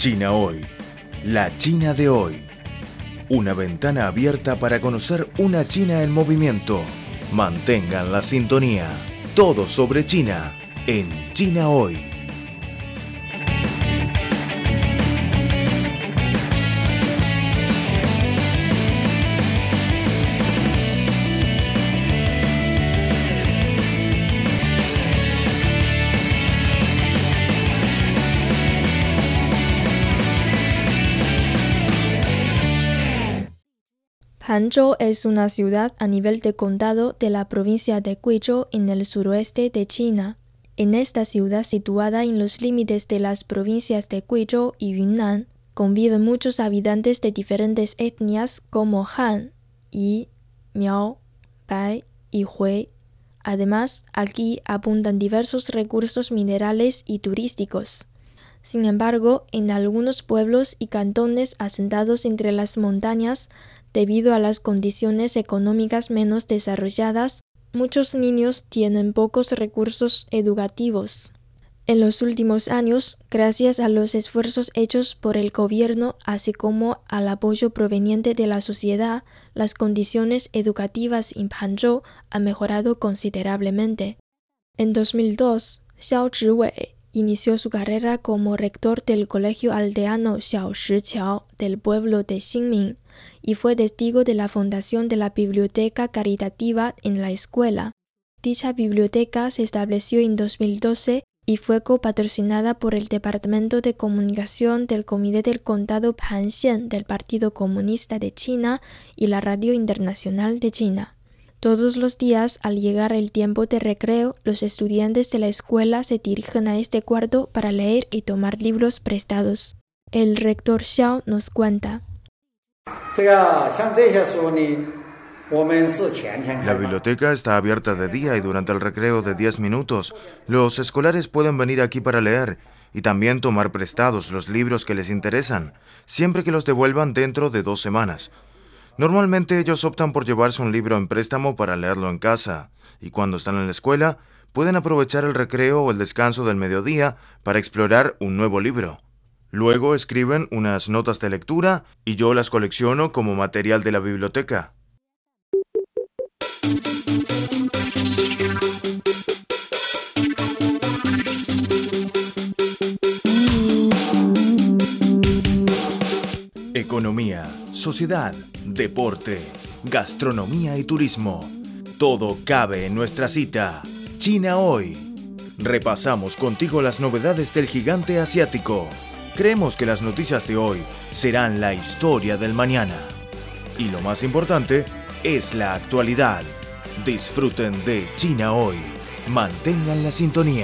China Hoy, la China de hoy. Una ventana abierta para conocer una China en movimiento. Mantengan la sintonía. Todo sobre China en China Hoy. Hangzhou es una ciudad a nivel de condado de la provincia de Guizhou en el suroeste de China. En esta ciudad situada en los límites de las provincias de Guizhou y Yunnan, conviven muchos habitantes de diferentes etnias como Han, Yi, Miao, Bai y Hui. Además, aquí abundan diversos recursos minerales y turísticos. Sin embargo, en algunos pueblos y cantones asentados entre las montañas, debido a las condiciones económicas menos desarrolladas, muchos niños tienen pocos recursos educativos. En los últimos años, gracias a los esfuerzos hechos por el gobierno, así como al apoyo proveniente de la sociedad, las condiciones educativas en Hangzhou han mejorado considerablemente. En 2002, Xiao Zhiwei inició su carrera como rector del colegio aldeano Xiao Shiqiao del pueblo de Xinmin y fue testigo de la fundación de la biblioteca caritativa en la escuela. Dicha biblioteca se estableció en 2012 y fue copatrocinada por el Departamento de Comunicación del Comité del Condado Hanxian del Partido Comunista de China y la Radio Internacional de China. Todos los días, al llegar el tiempo de recreo, los estudiantes de la escuela se dirigen a este cuarto para leer y tomar libros prestados. El rector Xiao nos cuenta. La biblioteca está abierta de día y durante el recreo de 10 minutos, los escolares pueden venir aquí para leer y también tomar prestados los libros que les interesan, siempre que los devuelvan dentro de 2 semanas. Normalmente ellos optan por llevarse un libro en préstamo para leerlo en casa, y cuando están en la escuela, pueden aprovechar el recreo o el descanso del mediodía para explorar un nuevo libro. Luego escriben unas notas de lectura y yo las colecciono como material de la biblioteca. Economía, sociedad, deporte, gastronomía y turismo. Todo cabe en nuestra cita. China Hoy. Repasamos contigo las novedades del gigante asiático. Creemos que las noticias de hoy serán la historia del mañana. Y lo más importante es la actualidad. Disfruten de China Hoy. Mantengan la sintonía.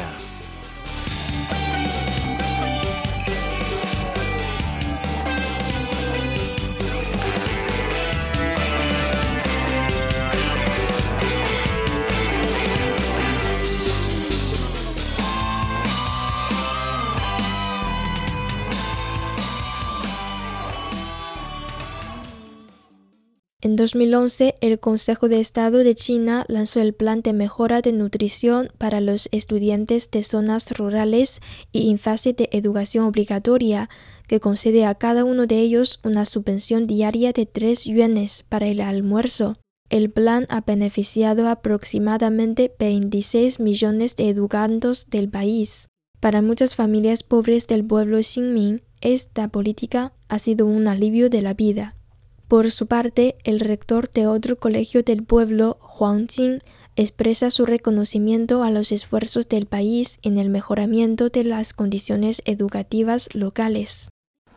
En 2011, el Consejo de Estado de China lanzó el Plan de Mejora de Nutrición para los estudiantes de zonas rurales y en fase de educación obligatoria, que concede a cada uno de ellos una subvención diaria de 3 yuanes para el almuerzo. El plan ha beneficiado a aproximadamente 26 millones de educandos del país. Para muchas familias pobres del pueblo Xinmin, esta política ha sido un alivio de la vida. Por su parte, el rector de otro colegio del pueblo, Huang Jing, expresa su reconocimiento a los esfuerzos del país en el mejoramiento de las condiciones educativas locales.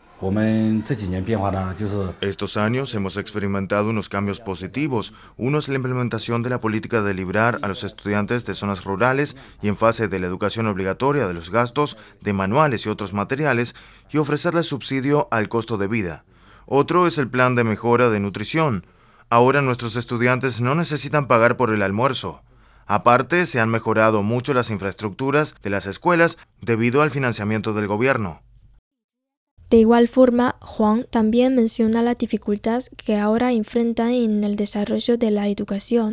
Estos años hemos experimentado unos cambios positivos. Uno es la implementación de la política de librar a los estudiantes de zonas rurales y en fase de la educación obligatoria de los gastos de manuales y otros materiales y ofrecerles subsidio al costo de vida. Otro es el plan de mejora de nutrición. Ahora nuestros estudiantes no necesitan pagar por el almuerzo. Aparte, se han mejorado mucho las infraestructuras de las escuelas debido al financiamiento del gobierno. De igual forma, Huang también menciona la dificultad que ahora enfrentan en el desarrollo de la educación.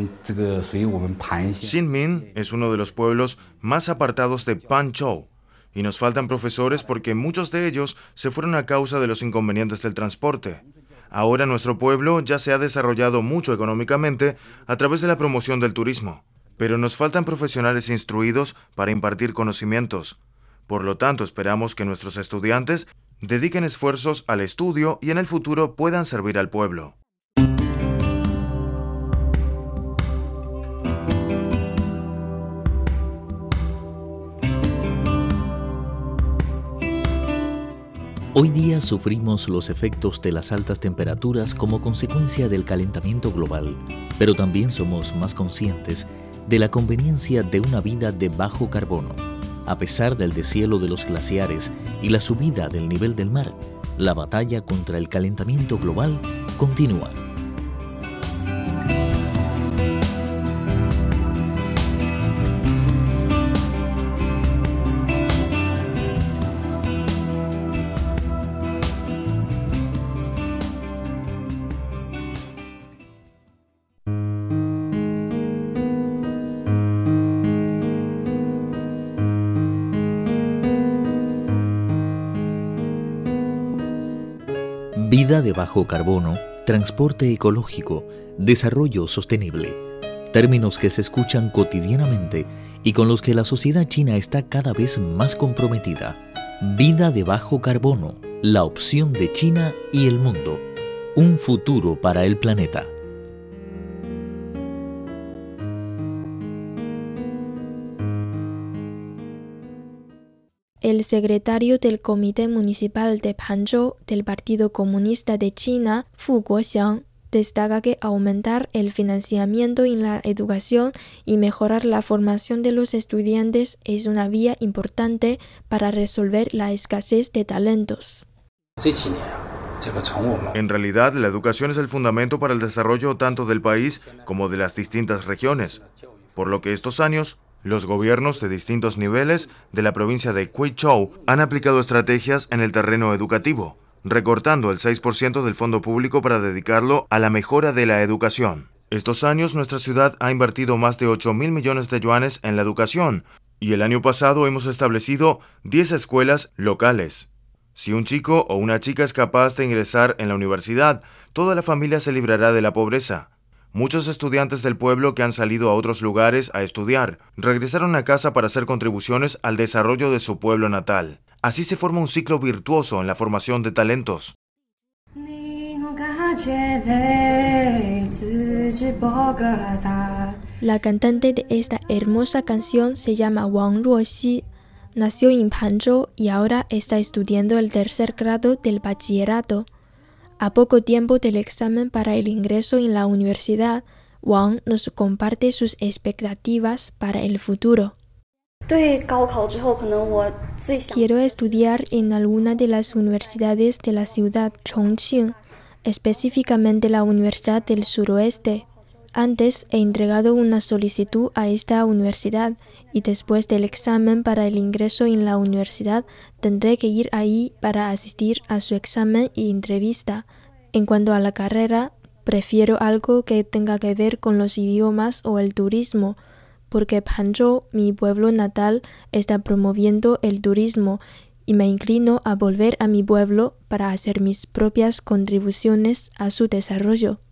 Xinmin es uno de los pueblos más apartados de Panzhou. Y nos faltan profesores porque muchos de ellos se fueron a causa de los inconvenientes del transporte. Ahora nuestro pueblo ya se ha desarrollado mucho económicamente a través de la promoción del turismo, pero nos faltan profesionales instruidos para impartir conocimientos. Por lo tanto, esperamos que nuestros estudiantes dediquen esfuerzos al estudio y en el futuro puedan servir al pueblo. Hoy día sufrimos los efectos de las altas temperaturas como consecuencia del calentamiento global, pero también somos más conscientes de la conveniencia de una vida de bajo carbono. A pesar del deshielo de los glaciares y la subida del nivel del mar, la batalla contra el calentamiento global continúa. Vida de bajo carbono, transporte ecológico, desarrollo sostenible. Términos que se escuchan cotidianamente y con los que la sociedad china está cada vez más comprometida. Vida de bajo carbono, la opción de China y el mundo. Un futuro para el planeta. El secretario del Comité Municipal de Panzhou del Partido Comunista de China, Fu Guoxiang, destaca que aumentar el financiamiento en la educación y mejorar la formación de los estudiantes es una vía importante para resolver la escasez de talentos. En realidad, la educación es el fundamento para el desarrollo tanto del país como de las distintas regiones, por lo que estos años los gobiernos de distintos niveles de la provincia de Guizhou han aplicado estrategias en el terreno educativo, recortando el 6% del fondo público para dedicarlo a la mejora de la educación. Estos años nuestra ciudad ha invertido más de 8.000 millones de yuanes en la educación y el año pasado hemos establecido 10 escuelas locales. Si un chico o una chica es capaz de ingresar en la universidad, toda la familia se librará de la pobreza. Muchos estudiantes del pueblo que han salido a otros lugares a estudiar regresaron a casa para hacer contribuciones al desarrollo de su pueblo natal. Así se forma un ciclo virtuoso en la formación de talentos. La cantante de esta hermosa canción se llama Wang Ruoxi. Nació en Panzhou y ahora está estudiando el tercer grado del bachillerato. A poco tiempo del examen para el ingreso en la universidad, Wang nos comparte sus expectativas para el futuro. Quiero estudiar en alguna de las universidades de la ciudad Chongqing, específicamente la Universidad del Suroeste. Antes he entregado una solicitud a esta universidad y después del examen para el ingreso en la universidad tendré que ir ahí para asistir a su examen y entrevista. En cuanto a la carrera, prefiero algo que tenga que ver con los idiomas o el turismo, porque Panzhou, mi pueblo natal, está promoviendo el turismo y me inclino a volver a mi pueblo para hacer mis propias contribuciones a su desarrollo.